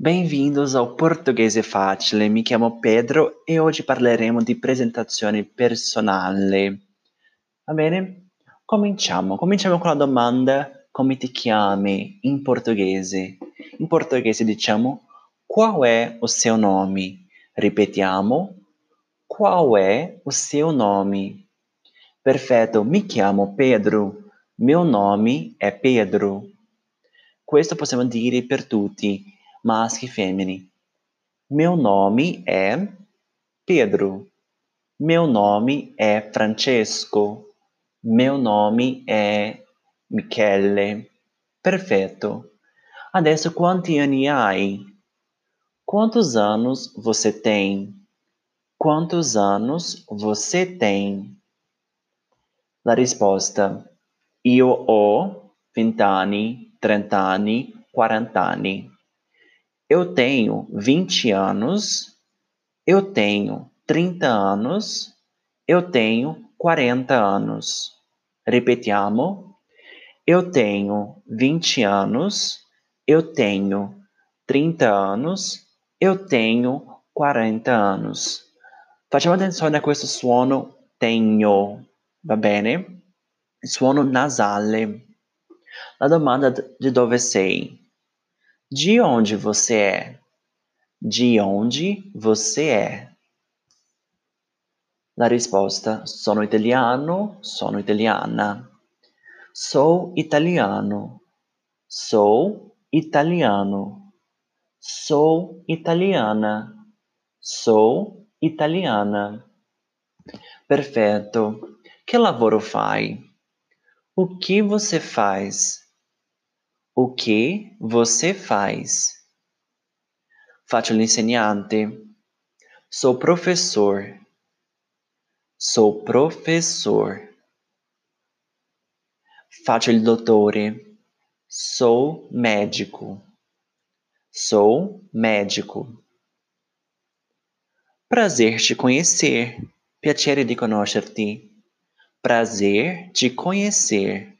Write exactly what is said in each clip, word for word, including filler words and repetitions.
Bem-vindos ao Portoghese Facile, mi chiamo Pedro e oggi parleremo di presentazione personale. Va bene? Cominciamo. Cominciamo con la domanda come ti chiami in portoghese. In portoghese diciamo qual è o seu nome? Ripetiamo, qual è o seu nome? Perfetto, mi chiamo Pedro. Meu nome è Pedro. Questo possiamo dire per tutti, maschi e femmine. Meu nome è Pedro. Meu nome è Francesco. Meu nome è Michele. Perfetto. Adesso quanti anni hai? Quantos anos você tem? Quantos anos você tem? La risposta: io ho vent'anni, trent'anni, quarant'anni. Eu tenho vinte anos, eu tenho trinta anos, eu tenho quarenta anos. Ripetiamo. Eu tenho vinte anos, eu tenho trinta anos, eu tenho quarenta anos. Facciamo attenzione a questo suono tenho, va bene? Il suono nasale. La domanda di dove sei? De onde você é? De onde você é? La risposta: sono italiano, sono italiana. Sou italiano. Sou italiano. Sou italiana. Sou italiana. Perfetto. Que lavoro fai? O que você faz? O que você faz? Faccio l'insegnante. Sou professor. Sou professor. Faccio il dottore. Sou médico. Sou médico. Prazer te conhecer. Piacere di conoscerti. Prazer te conhecer.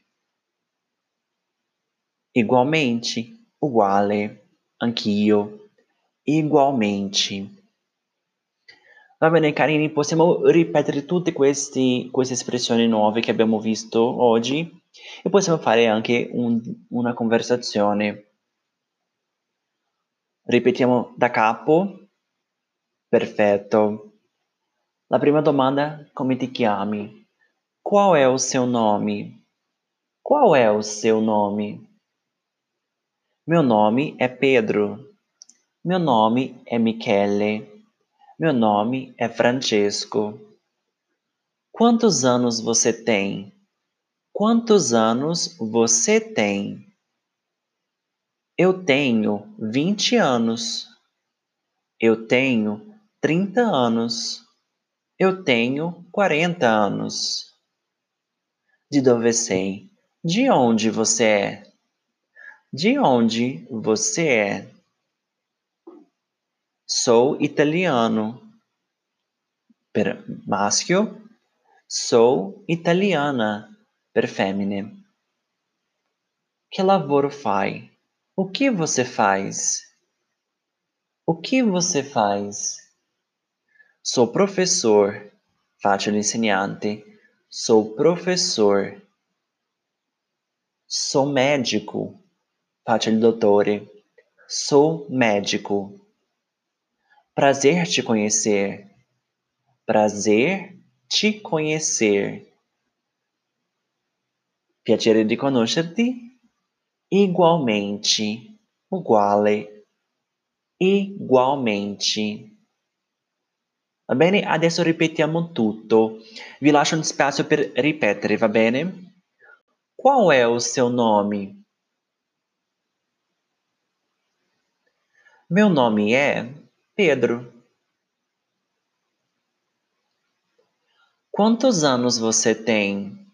Igualmente. Uguale. Anch'io. Igualmente. Va bene carini, possiamo ripetere tutte questi, queste espressioni nuove che abbiamo visto oggi e possiamo fare anche un, una conversazione. Ripetiamo da capo. Perfetto. La prima domanda: come ti chiami? Qual è o seu nome? Qual è o seu nome? Meu nome è Pedro. Meu nome è Michele. Meu nome é Francesco. Quantos anos você tem? Quantos anos você tem? Eu tenho vinte anos. Eu tenho trinta anos. Eu tenho quarenta anos. De dove sei? De onde você é? De onde você é? Sou italiano. Per maschio. Sou italiana. Per femmine. Que lavoro fai? O que você faz? O que você faz? Sou professor. Faccio l'insegnante. Sou professor. Sou médico. Faccio il dottore. Sou médico. Prazer te conhecer. Prazer te conhecer. Piacere di conoscerti. Igualmente. Uguale. Igualmente. Va bene? Adesso ripetiamo tutto. Vi lascio un spazio per ripetere, va bene? Qual è o seu nome? Meu nome é Pedro. Quantos anos você tem?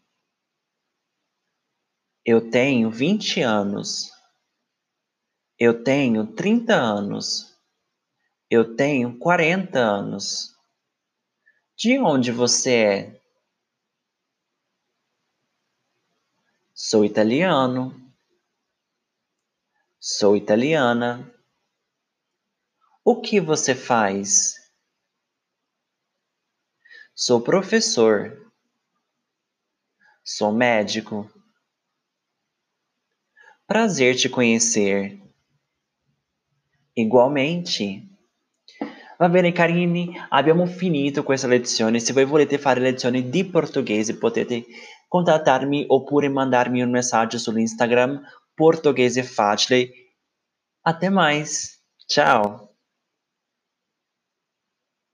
Eu tenho vinte anos. Eu tenho trinta anos. Eu tenho quarenta anos. De onde você é? Sou italiano. Sou italiana. O que você faz? Sou professor. Sou médico. Prazer te conhecer. Igualmente. Va bene carini, abbiamo finito questa lezione. Se voi volete fare lezioni di portoghese potete contattarmi oppure mandarmi un messaggio sull'Instagram Portoghese Facile. Até mais. Tchau.